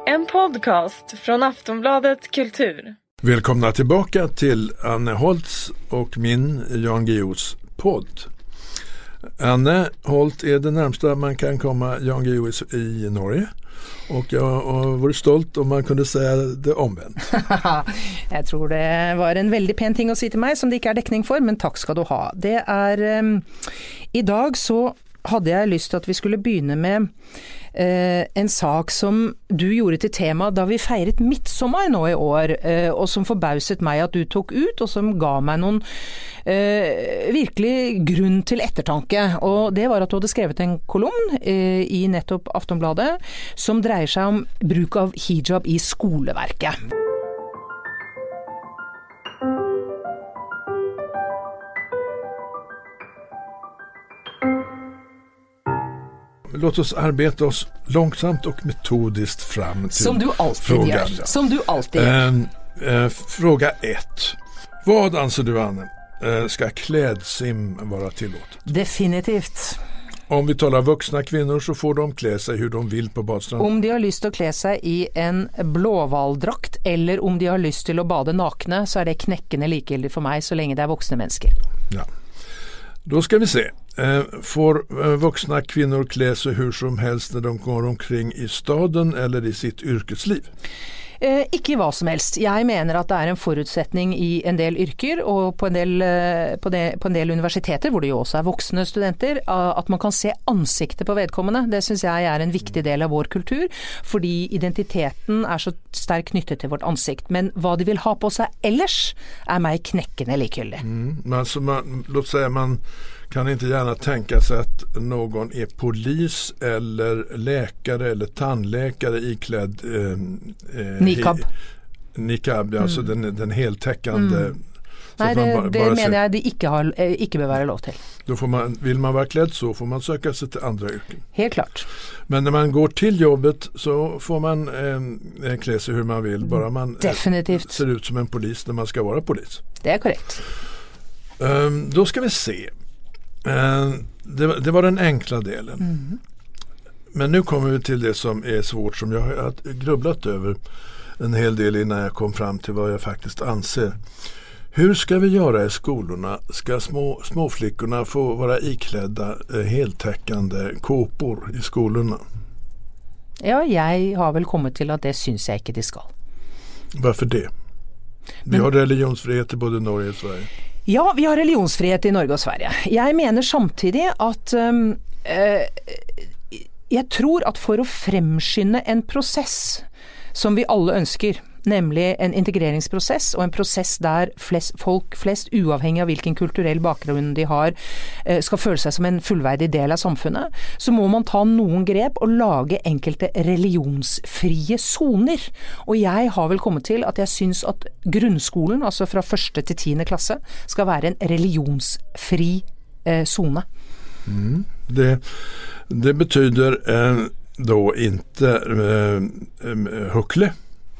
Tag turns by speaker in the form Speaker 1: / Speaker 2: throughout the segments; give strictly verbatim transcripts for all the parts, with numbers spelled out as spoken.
Speaker 1: En podcast från Aftonbladet Kultur.
Speaker 2: Välkomna tillbaka till Anne Holtz och min Jan Guillous podd. Anne Holt är det närmsta man kan komma Jan Guillou i Norge. Och jag var stolt om man kunde säga det omvänt.
Speaker 3: Jeg tror det var en veldig pen ting å si til meg som det ikke er dekning for, men takk skal du ha. Det er, um, i dag så hadde jeg lyst til at vi skulle begynne med uh, en sak som du gjorde til tema da vi feiret midtsommer nå i år, uh, og som forbauset meg at du tok ut, og som ga meg noen uh, virkelig grunn til ettertanke. Og det var at du hadde skrevet en kolumn uh, i nettopp Aftonbladet som dreier seg om bruk av hijab i skoleverket.
Speaker 2: Låt oss arbeta oss långsamt och metodiskt fram till
Speaker 3: Som du alltid
Speaker 2: frågan.
Speaker 3: gör. Som du alltid gör.
Speaker 2: Eh, eh, fråga ett. Vad anser du, Anne? Eh, ska klädsim vara tillåtet?
Speaker 3: Definitivt.
Speaker 2: Om vi talar vuxna kvinnor så får de klä sig hur de vill på badstranden.
Speaker 3: Om de har lyst til å kle seg i en blåhvaldrakt, eller om de har lyst til å bade nakne, så er det knekkende likegyldig for meg så lenge det er voksne mennesker.
Speaker 2: Ja. Då ska vi se. Får vuxna kvinnor klä sig hur som helst när de går omkring i staden eller i sitt yrkesliv?
Speaker 3: Eh, ikke hva som helst. Jeg mener at det er en forutsetning i en del yrker og på en del, eh, på det, på en del universiteter, hvor det jo også er voksne studenter, at man kan se ansiktet på vedkommende. Det synes jeg er en viktig del av vår kultur, fordi identiteten er så sterkt knyttet til vårt ansikt. Men hva de vil ha på seg ellers er meg knekkende likegyldig.
Speaker 2: Mm, men alltså man, låt säga man kan inte gärna tänka sig att någon är polis eller läkare eller tandläkare iklädd eh, eh,
Speaker 3: Niqab.
Speaker 2: Niqab, mm. Alltså den, den heltäckande.
Speaker 3: Mm. Nej, det,
Speaker 2: bara,
Speaker 3: det
Speaker 2: bara
Speaker 3: mener jeg de ikke, har, ikke bør være lov til.
Speaker 2: Då får man, vill man vara klädd så får man söka sig till andra yrken.
Speaker 3: Helt klart.
Speaker 2: Men när man går till jobbet så får man eh, klä sig hur man vill. Bara man
Speaker 3: Definitivt.
Speaker 2: ser ut som en polis när man ska vara polis.
Speaker 3: Det är korrekt.
Speaker 2: Um, då ska vi se. Uh, det, det var den enkla delen. Mm. Men nu kommer vi till det som är svårt, som jag har grubblat över en hel del innan jag kom fram till vad jag faktiskt anser. Hur ska vi göra i skolorna? Ska små, småflickorna få vara iklädda eh, heltäckande kåpor i skolorna?
Speaker 3: Ja, jeg har vel kommet til at det synes jeg ikke de skal.
Speaker 2: Varför det? Vi
Speaker 3: Men,
Speaker 2: har religionsfrihet i både Norge og Sverige.
Speaker 3: Ja, vi har religionsfrihet i Norge og Sverige. Jeg mener samtidig at um, uh, jeg tror at for å fremskynde en prosess som vi alle ønsker, nemlig en integreringsprosess og en prosess der flest, folk flest, uavhengig av hvilken kulturell bakgrunn de har, skal føle seg som en fullverdig del av samfunnet, så må man ta noen grep og lage enkelte religionsfrie zoner. Og jeg har vel kommet til at jeg synes at grunnskolen, altså fra første til tiende klasse, skal være en religionsfri zone. Eh,
Speaker 2: mm, det, det betyder eh, då inte eh, huckle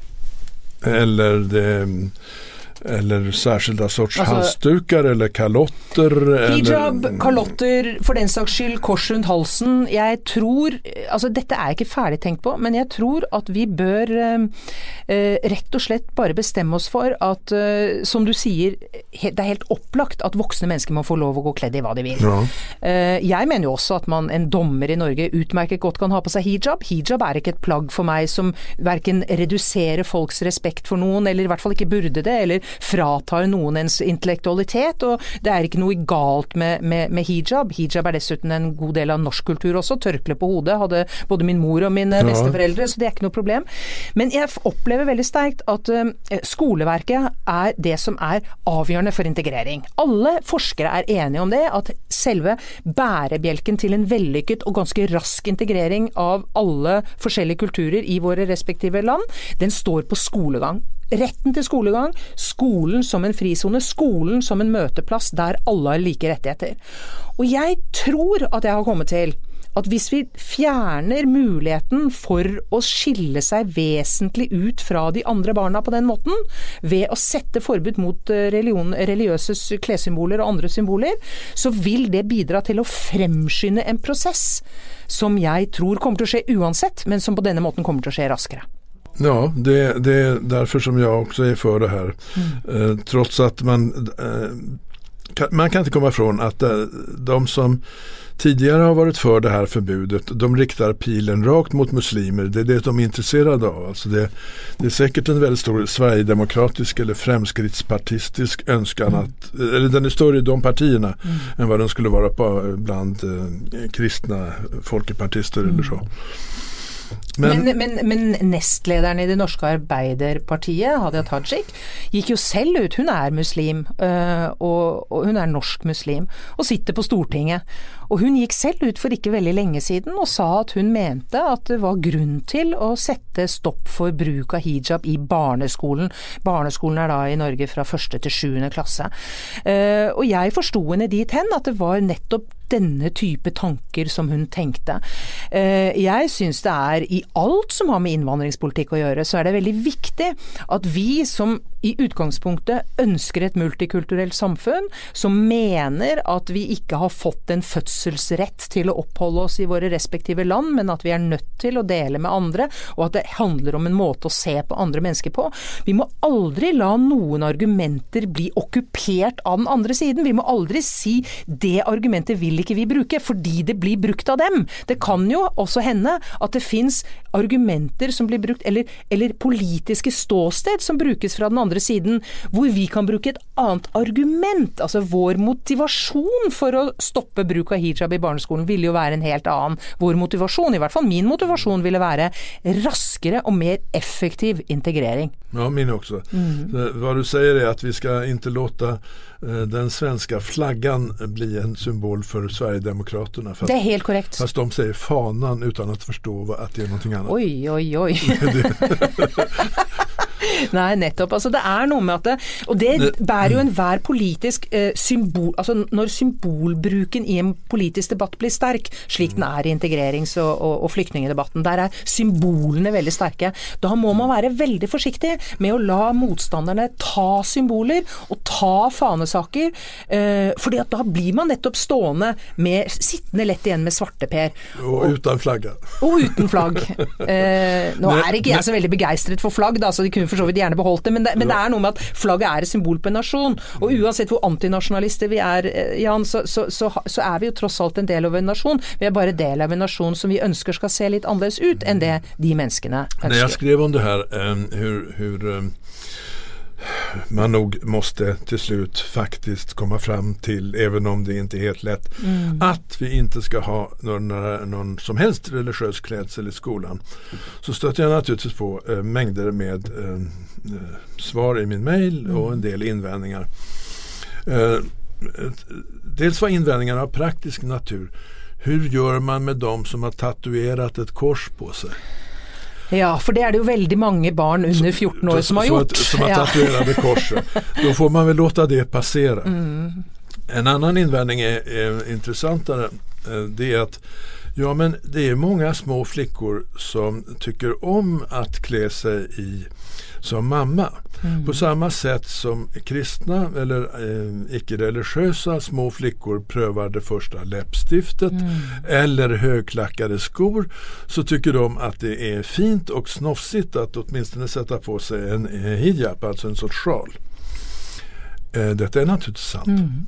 Speaker 2: eller det, eller särskilda sorts alltså, halsdukar eller kalotter
Speaker 3: hijab,
Speaker 2: eller
Speaker 3: kalotter, for den saks skyld kors rundt halsen. Jeg tror, altså dette er ikke ferdig tenkt på, men jeg tror at vi bør eh, rett og slett bare bestemme oss for at, eh, som du sier, he, det er helt opplagt at voksne mennesker må få lov å gå kledd i hva de vil. Ja. Eh, jeg mener jo også at man, en dommer i Norge utmerket godt kan ha på seg hijab. Hijab er ikke et plagg for meg som hverken reduserer folks respekt for noen, eller i hvert fall ikke burde det, eller fratar noen ens intellektualitet, og det er ikke noe galt med, med, med hijab. Hijab er dessuten en god del av norsk kultur også. Tørkle på hodet hadde både min mor og mine ja. besteforeldre, så det er ikke noe problem. Men jeg opplever veldig sterkt at uh, skoleverket er det som er avgjørende for integrering. Alle forskere er enige om det, at selve bærebjelken til en vellykket og ganske rask integrering av alle forskjellige kulturer i våre respektive land, den står på skolegang. Retten til skolegang, skolen som en frizone, skolen som en møteplass der alle har like rettigheter. Og jeg tror at jeg har kommet til at hvis vi fjerner muligheten for å skille seg vesentlig ut fra de andre barna på den måten, ved å sette forbud mot religion, religiøse klessymboler og andre symboler, så vil det bidra til å fremskynde en prosess som jeg tror kommer til å skje uansett, men som på denne måten kommer til å skje raskere.
Speaker 2: Ja, det, det är därför som jag också är för det här. Mm. Eh, trots att man, eh, kan, man kan inte komma ifrån att eh, de som tidigare har varit för det här förbudet, de riktar pilen rakt mot muslimer. Det är det de är intresserade av. Alltså det, det är säkert en väldigt stor sverigedemokratisk eller fremskrittspartistisk önskan mm. att, eller den är större i de partierna mm. än vad den skulle vara på bland eh, kristna folkepartister mm. eller så.
Speaker 3: Men, men, men, men nestlederen i det norske Arbeiderpartiet, Hadia Tajik, gikk jo selv ut. Hun er muslim, og, og hun er norsk muslim, og sitter på Stortinget. Og hun gikk selv ut for ikke veldig lenge siden og sa at hun mente at det var grunn til å sette stopp for bruk av hijab i barneskolen. Barneskolen er da i Norge fra første til sjuende klasse. Og jeg forstod henne dit hen at det var nettopp denne type tanker som hun tenkte. Jeg synes det er i alt som har med innvandringspolitikk å gjøre, så er det veldig viktig at vi som i utgangspunktet ønsker et multikulturelt samfunn, som mener at vi ikke har fått en fødselsrett til å oppholde oss i våre respektive land, men at vi er nødt til å dele med andre, og at det handler om en måte å se på andre mennesker på. Vi må aldri la noen argumenter bli okkupert av den andre siden. Vi må aldri si det argumentet vil ikke vi bruke, fordi det blir brukt av dem. Det kan jo også hende at det finnes argumenter som blir brukt, eller, eller politiske ståsted som brukes fra den andre siden, hvor vi kan bruke et annet argument. Altså vår motivasjon for å stoppe bruk av hijab i barneskolen ville jo være en helt annen. Vår motivasjon, i hvert fall min motivasjon, ville være raskere og mer effektiv integrering.
Speaker 2: Ja, min också. Mm. Vad du säger är att vi ska inte låta eh, den svenska flaggan bli en symbol för Sverigedemokraterna. Fast,
Speaker 3: det är helt korrekt.
Speaker 2: Fast de säger fanan utan att förstå vad, att det är någonting annat.
Speaker 3: Oj, oj, oj. Nei, nettopp. Altså det er noe med at det, og det bærer jo enhver politisk eh, symbol, altså når symbolbruken i en politisk debatt blir sterk, slik den er i integrerings- og, og, og flyktningedebatten, der er symbolene veldig sterke. Da må man være veldig forsiktig med å la motstanderne ta symboler og ta fanesaker, eh, fordi at da blir man nettopp stående med, sittende lett igjen med svarteper.
Speaker 2: Og, og uten flagga.
Speaker 3: Og uten flagg. Eh, nå men, er ikke jeg så veldig begeistret for flagg, da, så de kunne for så vidt gjerne beholdt det, men det, men det er noe med at flagget er et symbol på en nasjon, og uansett hvor antinasjonalister vi er, Jan, så, så, så, så er vi jo tross alt en del av en nasjon. Vi er bare del av en nasjon som vi ønsker skal se litt annerledes ut enn det de menneskene ønsker.
Speaker 2: När jag skrev om det här, um, hur, hur um, man nog måste till slut faktiskt komma fram till, även om det inte är helt lätt, mm. att vi inte ska ha någon, någon som helst religiös klädsel i skolan, så stötte jag naturligtvis på eh, mängder med eh, svar i min mejl mm. och en del invändningar. Eh, dels var invändningarna av praktisk natur. Hur gör man med dem som har tatuerat ett kors på sig?
Speaker 3: Ja, for det er det jo veldig mange barn under fjorton år som har gjort.
Speaker 2: Som har tatuerade korset. Då får man väl låta det passera. Mm. En annan invändning är, är intressantare. Det är att ja, men det är många små flickor som tycker om att klä sig i som mamma. Mm. På samma sätt som kristna eller eh, icke-religiösa små flickor prövar det första läppstiftet mm. eller högklackade skor, så tycker de att det är fint och snofsigt att åtminstone sätta på sig en eh, hijab, alltså en sorts sjal. Eh, detta är naturligtvis sant. Mm.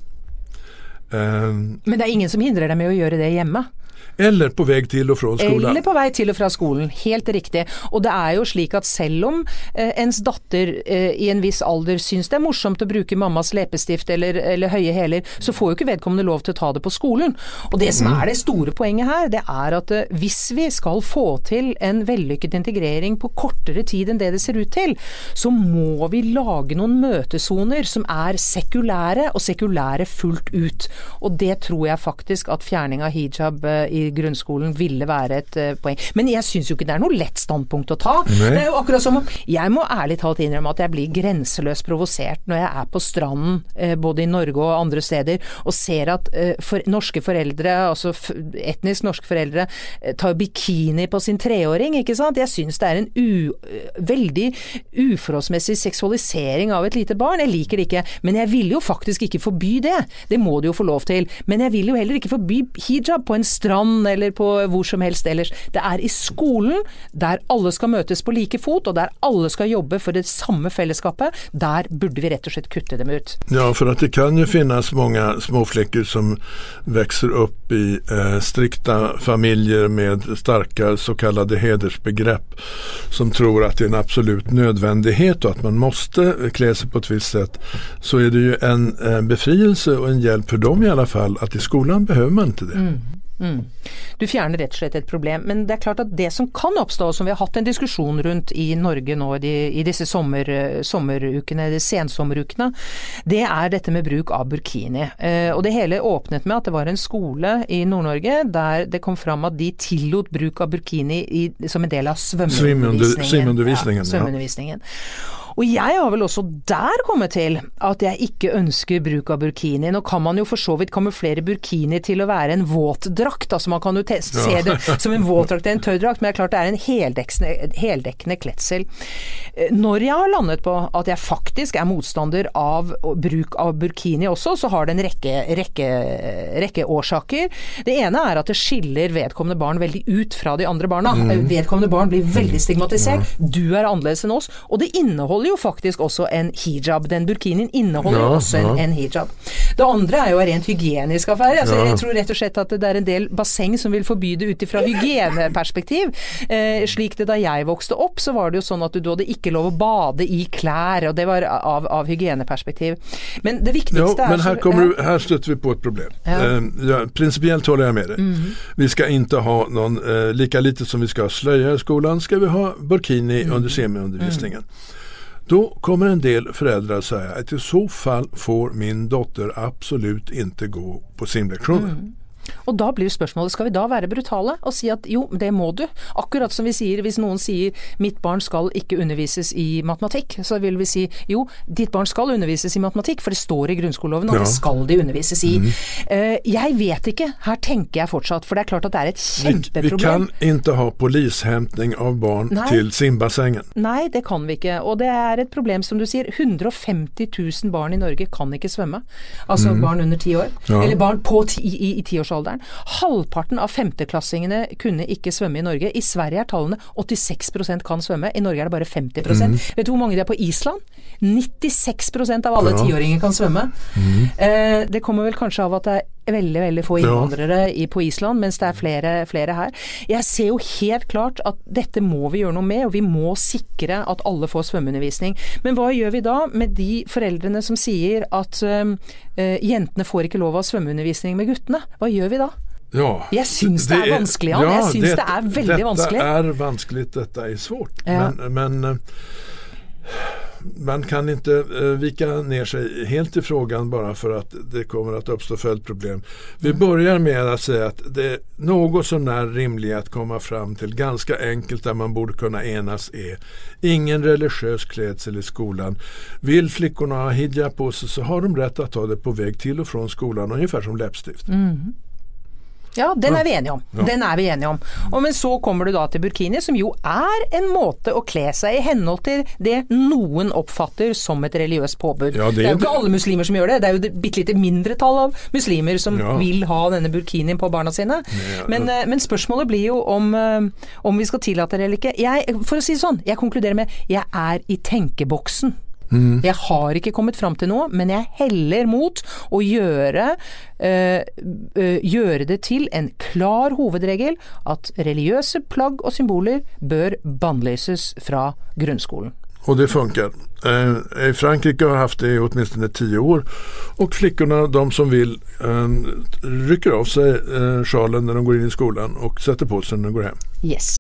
Speaker 2: Eh,
Speaker 3: Men det är ingen som hindrar dig med att göra det hemma?
Speaker 2: Eller på väg till och från skolen.
Speaker 3: Eller på vei til og fra skolen, helt riktig. Og det er jo slik at selv om eh, ens datter eh, i en viss alder syns det er morsomt å bruke mammas leppestift eller, eller høye hæler, så får jo ikke vedkommende lov til å ta det på skolen. Og det som er det store poenget her, det er at eh, hvis vi skal få til en vellykket integrering på kortere tid enn det det ser ut til, så må vi lage noen møtesoner som er sekulære, og sekulære fullt ut. Og det tror jeg faktisk at fjerning av hijab eh, i grunnskolen ville være et uh, poeng. Men jeg synes jo ikke det er noe lett standpunkt å ta. Nei. Det er jo akkurat som om, jeg må ærlig talt innrømme at jeg blir grenseløst provosert når jeg er på stranden, uh, både i Norge og andre steder, og ser at uh, for, norske foreldre, altså f- etnisk norske foreldre, uh, tar bikini på sin treåring, ikke sant? Jeg synes det er en u, uh, veldig uforholdsmessig seksualisering av et lite barn. Jeg liker det ikke, men jeg vil jo faktisk ikke forby det. Det må du jo få lov til. Men jeg vil jo heller ikke forby hijab på en strand strand eller på hvor som helst ellers. Det er i skolen, der alle skal møtes på like fot, og der alle skal jobbe for det samme fellesskapet. Der burde vi rett og slett kutte dem ut.
Speaker 2: Ja, for att det kan ju finnas många småflickor som växer upp i eh, strikta familjer med starka så kallade hedersbegrepp som tror att det är en absolut nödvändighet och att man måste klä sig på ett visst sätt, så är det ju en, en befrielse och en hjälp för dem i alla fall att i skolan behöver man inte det.
Speaker 3: Mm. Mm. Du fjerner rett og slett et problem, men det er klart at det som kan oppstå, som vi har hatt en diskusjon rundt i Norge nå i, i disse sommer, sommerukene, de sensommerukene, det er dette med bruk av burkini. Eh, og det hele åpnet med at det var en skole i Nord-Norge der det kom fram at de tillot bruk av burkini i, som en del av svømmeundervisningen.
Speaker 2: Svømmeundervisningen,
Speaker 3: ja, svømmeundervisningen. Og jeg har vel også der kommet til at jeg ikke ønsker bruk av burkini. Nå kan man jo for så vidt kamuflere burkini til å være en våtdrakt, altså man kan jo te- se det som en våtdrakt eller en tørrdrakt, men det er klart det er en heldekkende, heldekkende kletsel. Når jeg har landet på at jeg faktisk er motstander av bruk av burkini også, så har det en rekke, rekke, rekke årsaker. Det ene er at det skiller vedkommende barn veldig ut fra de andre barna. Mm. Vedkommende barn blir veldig stigmatisert. Du er annerledes enn oss, og det inneholder jo faktisk også en hijab. Den burkinien inneholder jo ja, også en, ja. en hijab. Det andre er jo en rent hygienisk affære. Altså, ja. Jeg tror rett og slett at det er en del basseng som vil forby det ut ifra hygieneperspektiv. Eh, slik det da jeg vokste opp, så var det jo sånn at du hadde ikke lov å bade i klær, og det var av, av hygieneperspektiv. Men det viktigste
Speaker 2: ja,
Speaker 3: er...
Speaker 2: Men här, kommer ja. du, här stöter vi på ett problem. Ja. Eh, ja, principiellt håller jag med dig. Mm. Vi ska inte ha någon, eh, lika lite som vi ska ha slöja i skolan, ska vi ha burkini mm. under semiundervisningen. Mm. Då kommer en del föräldrar säga att i så fall får min dotter absolut inte gå på simlektioner. Mm.
Speaker 3: Og da blir spørsmålet, skal vi da være brutale og si at jo, det må du? Akkurat som vi sier, hvis noen sier mitt barn skal ikke undervises i matematikk, så vil vi si jo, ditt barn skal undervises i matematikk, for det står i grunnskoleloven, og ja. det skal de undervises i. Mm. Uh, jeg vet ikke, her tenker jeg fortsatt, for det er klart at det er et kjempeproblem.
Speaker 2: Vi, vi kan ikke ha polishämtning av barn Nei. til simbassengen.
Speaker 3: Nei, det kan vi ikke, og det er et problem som du sier, hundre og femti tusen barn i Norge kan ikke svømme. Altså mm. barn under ti år, ja. eller barn på ti, i, i tiårsalderen. Halvparten av femteklassingene kunne ikke svømme i Norge. I Sverige er tallene åttiseks prosent kan svømme. I Norge er det bare femti prosent. Mm. Vet du hvor mange det er på Island? nittiseks prosent av alle ja. tiåringer kan svømme. Mm. Eh, det kommer vel kanskje av at det er veldig, veldig få innvandrere ja. i, på Island, mens det er flere, flere her. Jeg ser jo helt klart at dette må vi gjøre noe med, og vi må sikre at alle får svømmeundervisning. Men hva gjør vi da med de foreldrene som sier at uh, jentene får ikke lov av svømmeundervisning med guttene? Hva gjør vi da?
Speaker 2: Ja,
Speaker 3: jeg syns det, det er vanskelig, Jan. Ja, jeg syns det, det er veldig
Speaker 2: dette
Speaker 3: vanskelig.
Speaker 2: Dette er vanskelig, dette er svårt. Ja. Men, men man kan inte uh, vika ner sig helt i frågan bara för att det kommer att uppstå följdproblem. Vi mm. börjar med att säga att det är något så när rimligt att komma fram till, ganska enkelt där man borde kunna enas, är ingen religiös klädsel i skolan. Vill flickorna ha hijab på sig så har de rätt att ta det på väg till och från skolan, ungefär som läppstift. Mm.
Speaker 3: Ja, den er vi enige om.
Speaker 2: Ja.
Speaker 3: Den er vi enige om. Og men så kommer du da til burkini, som jo er en måte å kle seg i henhold til det noen oppfatter som et religiøst påbud. Ja, det, det er jo ikke alle muslimer som gjør det. Det er jo det bittelite mindretall av muslimer som ja. vil ha denne burkinien på barna sine. Ja. Men, men spørsmålet blir jo om, om vi skal tillate det eller ikke. Jeg, for å si det sånn, jeg konkluderer med jeg er i tenkeboksen. Mm. Jeg har ikke kommet fram til noe, men jeg heller mot å gjøre, øh, øh, gjøre det til en klar hovedregel at religiøse plagg og symboler bør bannlyses fra grunnskolen.
Speaker 2: Och det funkar. Eh, Frankrike har haft det i åtminstone tio år, och flickorna, de som vill, eh, rycker av sig eh, sjalen när de går in i skolan och sätter på sig när de går hem.
Speaker 3: Yes.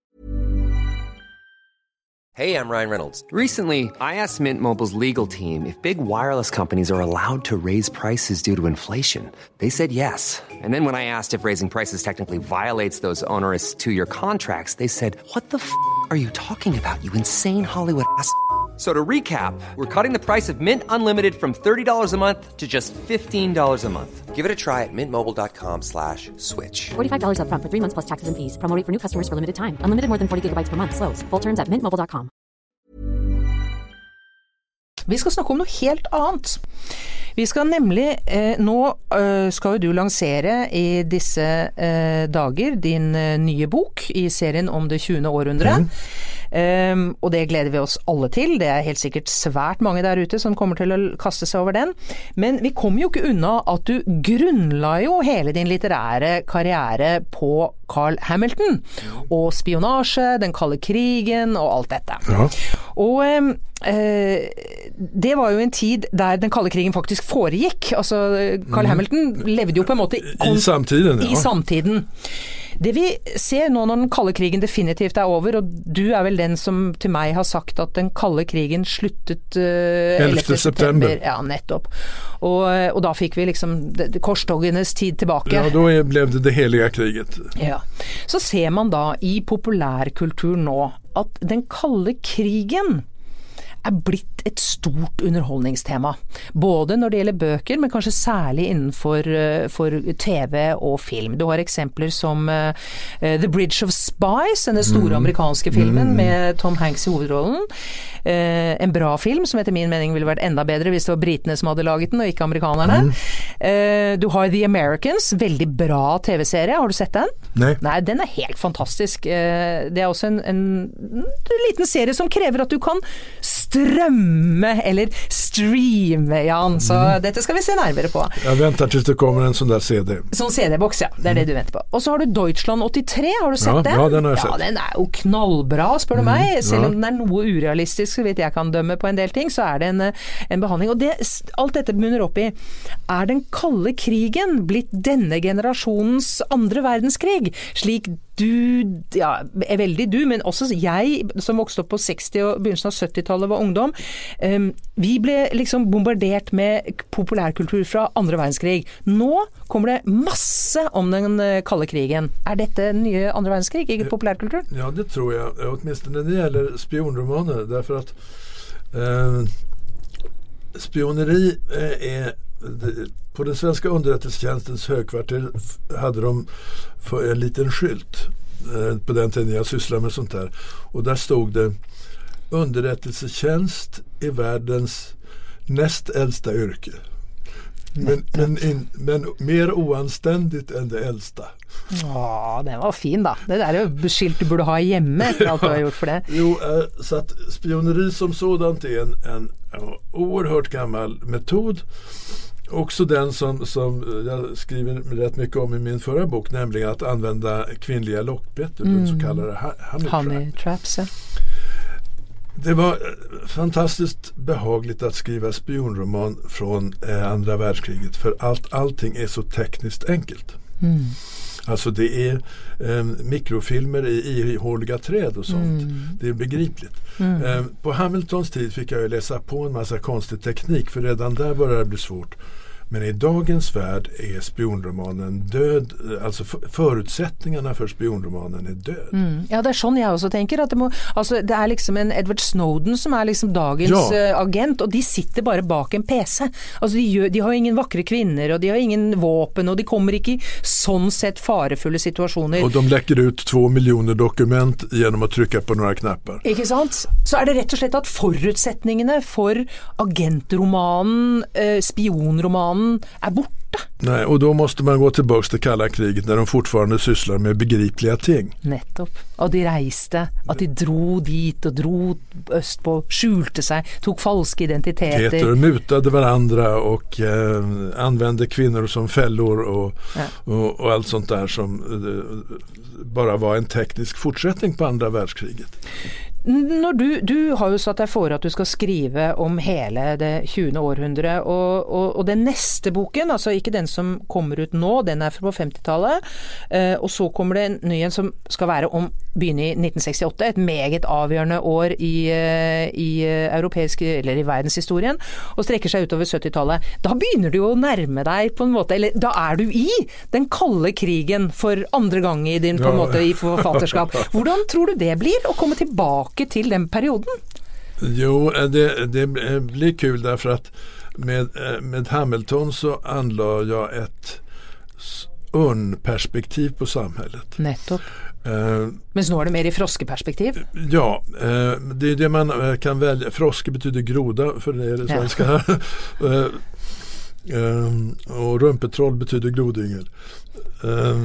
Speaker 4: Hey, I'm Ryan Reynolds. Recently, I asked Mint Mobile's legal team if big wireless companies are allowed to raise prices due to inflation. They said yes. And then when I asked if raising prices technically violates those onerous two-year contracts, they said, what the f*** are you talking about, you insane Hollywood ass f- So to recap, we're cutting the price of Mint Unlimited from thirty dollars a month to just fifteen dollars a month. Give it a try at mintmobile.com slash switch.
Speaker 5: forty-five dollars up front for three months plus taxes and fees. Promo rate for new customers for limited time. Unlimited more than forty gigabytes per month slows. Full terms at mint mobile dot com.
Speaker 3: Vi skal snakke om noe helt annet. Vi skal nemlig, eh, nå eh, skal jo du lansere i disse eh, dager din eh, nye bok i serien om det tjuende århundre. Mm. Um, og det gleder vi oss alle til. Det er helt sikkert svært mange der ute som kommer til å kaste seg over den. Men vi kommer jo ikke unna at du grunnla jo hele din litterære karriere på Carl Hamilton. Og spionasje, den kalde krigen og alt dette. Ja. Og um, eh, det var jo en tid der den kalde krigen faktisk foregikk. Altså, Carl mm. Hamilton levde jo på en måte
Speaker 2: I samtiden. Ja.
Speaker 3: I samtiden. Det vi ser nå når den kalde krigen definitivt er over, og du er vel den som til meg har sagt at den kalde krigen sluttet uh,
Speaker 2: ellevte september.
Speaker 3: Ja, nettopp. Og, og da fikk vi liksom korstoggenes tid tilbake.
Speaker 2: Ja, da ble det det helige kriget.
Speaker 3: Ja. Så ser man da i populærkultur nå at den kalde krigen er blitt et stort underholdningstema. Både når det gjelder bøker, men kanskje særlig innenfor for T V og film. Du har eksempler som uh, The Bridge of Spies, den store amerikanske filmen mm. med Tom Hanks i hovedrollen. Uh, en bra film som etter min mening ville vært enda bedre hvis det var britene som hadde laget den, og ikke amerikanerne. Mm. Uh, du har The Americans, veldig bra T V-serie. Har du sett den?
Speaker 2: Nei.
Speaker 3: Nei, den er helt fantastisk. Uh, det er også en, en, en liten serie som krever at du kan strømme eller streame, Jan. Så mm. dette skal vi se nærmere på.
Speaker 2: Jeg venter til det kommer en sånn der C D.
Speaker 3: Sånn C D-boks, ja. Det er det du venter på. Og så har du Deutschland åttitre, har du sett
Speaker 2: ja,
Speaker 3: den?
Speaker 2: Ja, den har jeg sett.
Speaker 3: Ja, den er jo knallbra, spør du mm. meg. Selv om den er noe urealistisk, så vidt jeg kan dømme på en del ting, så er det en, en behandling. Og det, alt dette bunner opp i, er den kalde krigen blitt denne generasjonens andre verdenskrig? Slik du, ja, er veldig du, men også jeg, som vokste opp på seksti- og begynnelsen av syttitallet var ungdom, um, vi ble liksom bombardert med populærkultur fra andre verdenskrig. Nå kommer det masse om den kalde krigen. Er dette nye andre verdenskrig i populærkultur?
Speaker 2: Ja, det tror jeg. Åtminstone når det gjelder spionromaner, derfor at eh, spioneri er det, på den svenska underrättelsetjänstens högkvarter hade de för en liten skylt eh, på den tiden jag sysslade med sånt där. Och där stod det underrättelsetjänst i världens näst äldsta yrke. Men, men, in, men mer oanständigt än det äldsta.
Speaker 3: Ja, den var fin da. Det där är ju skilt du borde ha hjemme efter allt du har gjort för det.
Speaker 2: Jo, eh, så att spioneri som sådant är en, en ja, oerhört gammal metod. Också den som, som jag skriver rätt mycket om i min förra bok, nämligen att använda kvinnliga lockbett, mm. den så kallade honey,
Speaker 3: honey traps. Ja.
Speaker 2: Det var fantastiskt behagligt att skriva spionroman från eh, andra världskriget, för allt, allting är så tekniskt enkelt. Mm. Alltså det är eh, mikrofilmer i ihåliga träd och sånt. Mm. Det är begripligt. Mm. Eh, på Hamiltons tid fick jag ju läsa på en massa konstig teknik, för redan där började det bli svårt. Men i dagens värld är spionromanen död, alltså förutsättningarna för spionromanen är död.
Speaker 3: Mm. Ja, det är sånn jeg også tenker, at det, må, altså, det er liksom en Edward Snowden som er liksom dagens ja. uh, agent, og de sitter bare bak en P C. Altså, de, gjør, de har ingen vakre kvinner, og de har ingen våpen, og de kommer ikke i sånn sett farefulle situasjoner.
Speaker 2: Og de läcker ut två miljoner dokument genom att trycka på några knappar.
Speaker 3: Ikke sant? Så er det rett og slett at forutsetningene for agentromanen, uh, spionromanen, är borta.
Speaker 2: Nej, och då måste man gå tillbaka till kalla kriget när de fortfarande sysslar med begripliga ting.
Speaker 3: Nettopp. Och de reiste, att de drog dit och drog öst på, skjulte sig, tog falska identiteter.
Speaker 2: Peter mutade varandra och eh, använde kvinnor som fällor och, ja. och, och allt sånt där som eh, bara var en teknisk fortsättning på andra världskriget.
Speaker 3: Når du, du har jo satt deg for at du skal skrive om hele det tjuende århundre, og, og, og den neste boken, altså ikke den som kommer ut nå, den er fra femtitallet, eh, og så kommer det en ny en som skal være om begynne i nitten sekstiåtte, et meget avgjørende år i, i europeisk, eller i verdenshistorien, og strekker seg utover syttitallet. Da begynner du jo å nærme deg på en måte, eller da er du i den kalde krigen for andre gang i din på en måte i forfatterskap. Hvordan tror du det blir å komme tilbake till den perioden?
Speaker 2: Jo, det, det blir kul därför att med, med Hamilton så anlade jag ett urnperspektiv på samhället.
Speaker 3: Nettopp.
Speaker 2: Eh,
Speaker 3: Men nu är det mer i froskeperspektiv.
Speaker 2: Ja, eh, det är det man kan välja. Froske betyder groda för det är det svenska. Ja. eh, eh, och rumpetroll betyder grodyngel. Eh,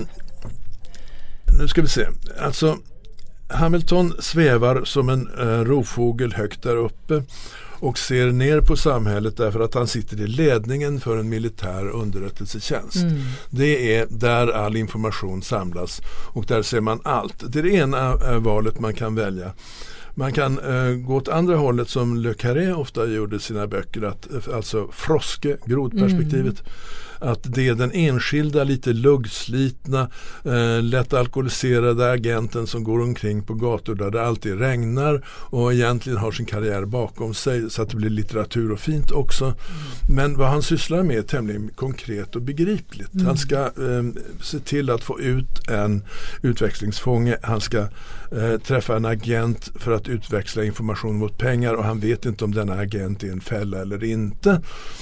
Speaker 2: nu ska vi se. Alltså Hamilton svävar som en eh, rovfågel högt där uppe och ser ner på samhället därför att han sitter i ledningen för en militär underrättelsetjänst. Mm. Det är där all information samlas och där ser man allt. Det är det ena äh, valet man kan välja. Man kan äh, gå åt andra hållet som Le Carré ofta gjorde i sina böcker, att, alltså froske, grodperspektivet. Mm. Att det är den enskilda, lite luggslitna, eh, lätt alkoholiserade agenten som går omkring på gator där det alltid regnar och egentligen har sin karriär bakom sig, så att det blir litteratur och fint också. Mm. Men vad han sysslar med är tämligen konkret och begripligt. Mm. Han ska eh, se till att få ut en utväxlingsfånge. Han ska eh, träffa en agent för att utväxla information mot pengar och han vet inte om denna agent är en fälla eller inte.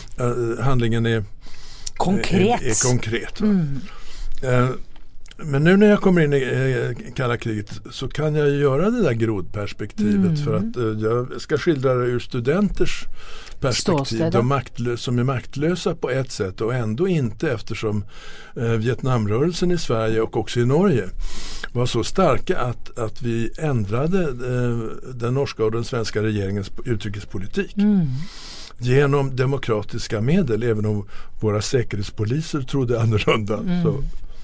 Speaker 2: Eh, handlingen är
Speaker 3: Konkret.
Speaker 2: Är, är konkret. Mm. Eh, men nu när jag kommer in i eh, kalla kriget så kan jag göra det där grodperspektivet mm. för att eh, jag ska skildra det ur studenters perspektiv. De maktlö- som är maktlösa på ett sätt och ändå inte, eftersom eh, Vietnamrörelsen i Sverige och också i Norge var så starka att, att vi ändrade eh, den norska och den svenska regeringens utrikespolitik. Mm. Genom demokratiska medel, även om våra säkerhetspoliser trodde annorlunda. Mm. Så,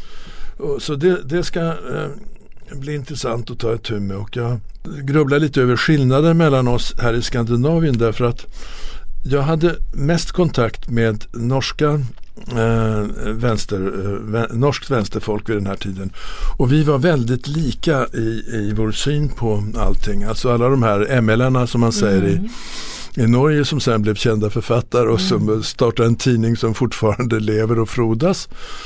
Speaker 2: och, så det, det ska eh, bli intressant att ta ett tur med. Och jag grubblar lite över skillnaden mellan oss här i Skandinavien, därför att jag hade mest kontakt med norska eh, vänster, eh, norskt vänsterfolk vid den här tiden. Och vi var väldigt lika i, i vår syn på allting. Alltså alla de här M L-arna som man säger mm. i I Norge, som sen blev kända författare och som mm. startade en tidning som fortfarande lever och frodas,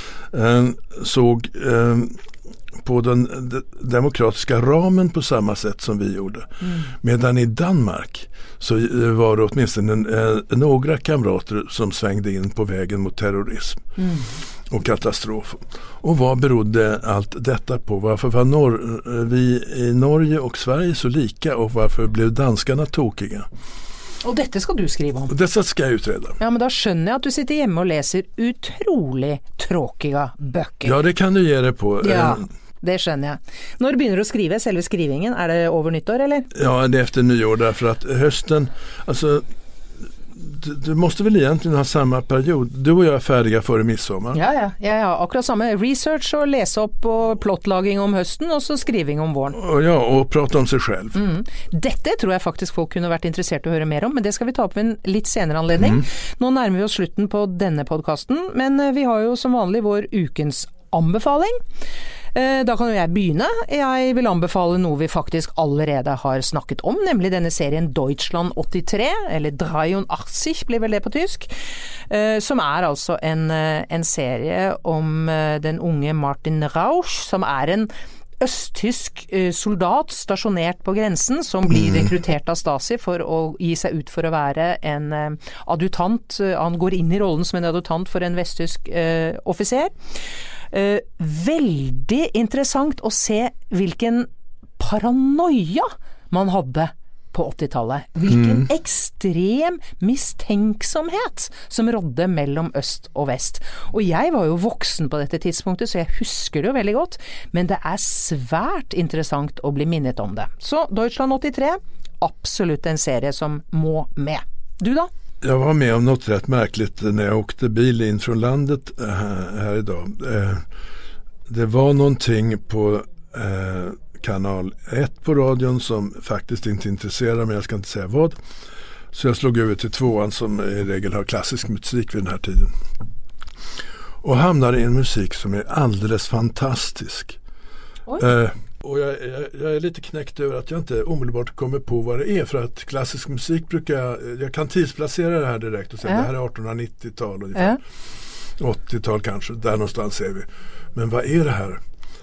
Speaker 2: eh, såg eh, på den de, demokratiska ramen på samma sätt som vi gjorde. Mm. Medan i Danmark så eh, var det åtminstone en, eh, några kamrater som svängde in på vägen mot terrorism mm. och katastrof. Och vad berodde allt detta på? Varför var Nor- vi i Norge och Sverige så lika och varför blev danskarna tokiga?
Speaker 3: Och detta ska du skriva om.
Speaker 2: Och detta ska jag utreda.
Speaker 3: Ja, men då skönner jag att du sitter hemma och läser otroligt tråkiga böcker.
Speaker 2: Ja, det kan du ge dig på.
Speaker 3: Ja, det skönner jag. När du börjar att skriva själva skrivningen, är det över nyttår eller?
Speaker 2: Ja, det är efter nyår, därför att hösten, alltså du, du måste väl egentligen ha samma period. Du och jag är färdiga före midsommar.
Speaker 3: Ja, ja, ja, ja. Akkurat samma research och läsa upp och plottlaging om hösten och så skriving om våren.
Speaker 2: Och ja, och prata om sig själv.
Speaker 3: Mm. Detta tror jag faktiskt folk kunde varit intresserade att höra mer om, men det ska vi ta upp vid en lite senare anledning. Mm. Nu närmar vi oss slutten på denna podcasten, men vi har ju som vanligt vår ukens anbefaling. Da kan jo jeg begynne. Jeg vil anbefale noe vi faktisk allerede har snakket om, nemlig denne serien Deutschland åttitre, eller dreiundachtzig blir vel det på tysk, som er altså en, en serie om den unge Martin Rausch, som er en østtysk soldat stasjonert på grensen, som blir rekruttert av Stasi for å gi seg ut for å være en adjutant. Han går inn i rollen som en adjutant for en vesttysk uh, offiser. Uh, veldig interessant å se hvilken paranoia man hadde på åttitallet. Hvilken mm. ekstrem mistenksomhet som rådde mellom øst og vest. Og jeg var jo voksen på dette tidspunktet, så jeg husker det jo veldig godt, men det er svært interessant å bli minnet om det. Så Deutschland åttitre, absolutt en serie som må med. Du da?
Speaker 2: Jag var med om något rätt märkligt när jag åkte bil in från landet här idag. Det var någonting på kanal ett på radion som faktiskt inte intresserar mig, jag ska inte säga vad. Så jag slog över till tvåan som i regel har klassisk musik vid den här tiden. Och hamnade i en musik som är alldeles fantastisk. Eh, och jag, jag, jag är lite knäckt över att jag inte omedelbart kommer på vad det är, för att klassisk musik brukar jag, jag kan tidsplacera det här direkt och säga äh. det här är artonhundranittiotal ungefär. Äh. åttiotal kanske, där någonstans är vi. Men vad är det här?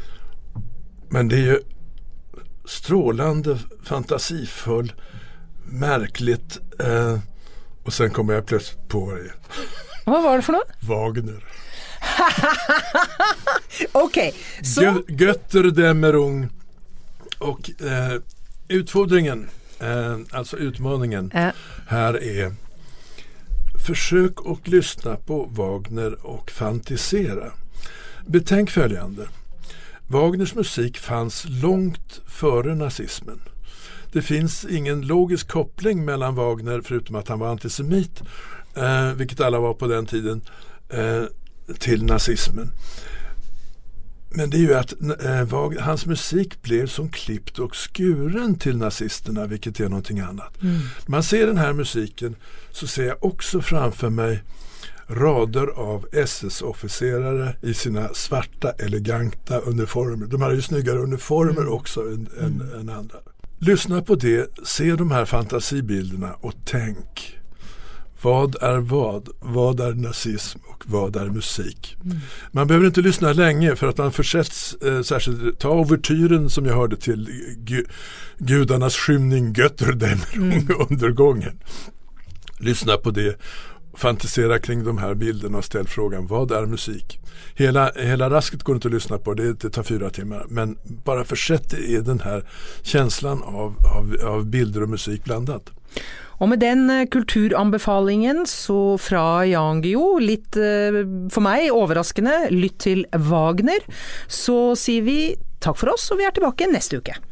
Speaker 2: Men det är ju strålande, fantasifull, märkligt eh, och sen kommer jag plötsligt på det.
Speaker 3: Vad var det för något?
Speaker 2: Wagner.
Speaker 3: Okej, så...
Speaker 2: Gö- Götterdämmerung och eh, utfordringen, eh, alltså utmaningen
Speaker 3: Äh.
Speaker 2: här är försök att lyssna på Wagner och fantisera. Betänk följande. Wagners musik fanns långt före nazismen. Det finns ingen logisk koppling mellan Wagner, förutom att han var antisemit, eh, vilket alla var på den tiden, eh, till nazismen. Men det är ju att eh, Wagner, hans musik blev som klippt och skuren till nazisterna, vilket är någonting annat. Mm. Man ser den här musiken så ser jag också framför mig rader av S S-officerare i sina svarta, eleganta uniformer. De har ju snyggare uniformer mm. också än, mm. än, än andra. Lyssna på det, se de här fantasibilderna och tänk. Vad är vad? Vad är nazism och vad är musik? Mm. Man behöver inte lyssna länge för att man försätts, eh, särskilt ta overtyren som jag hörde till gu, gudarnas skymning Götterdämmerung mm. undergången. Lyssna på det, fantisera kring de här bilderna och ställ frågan, vad är musik? Hela, hela rasket går inte att lyssna på, det, det tar fyra timmar, men bara försätt i den här känslan av, av, av bilder och musik blandat.
Speaker 3: Og med den kulturanbefalingen så fra Jan Guillou, litt for meg overraskende, lytt til Wagner, så sier vi takk for oss, og vi er tilbake neste uke.